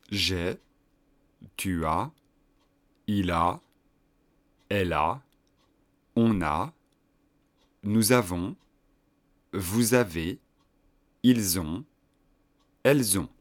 j'ai, tu as, il a, elle a, on a, nous avons, vous avez, ils ont, elles ont.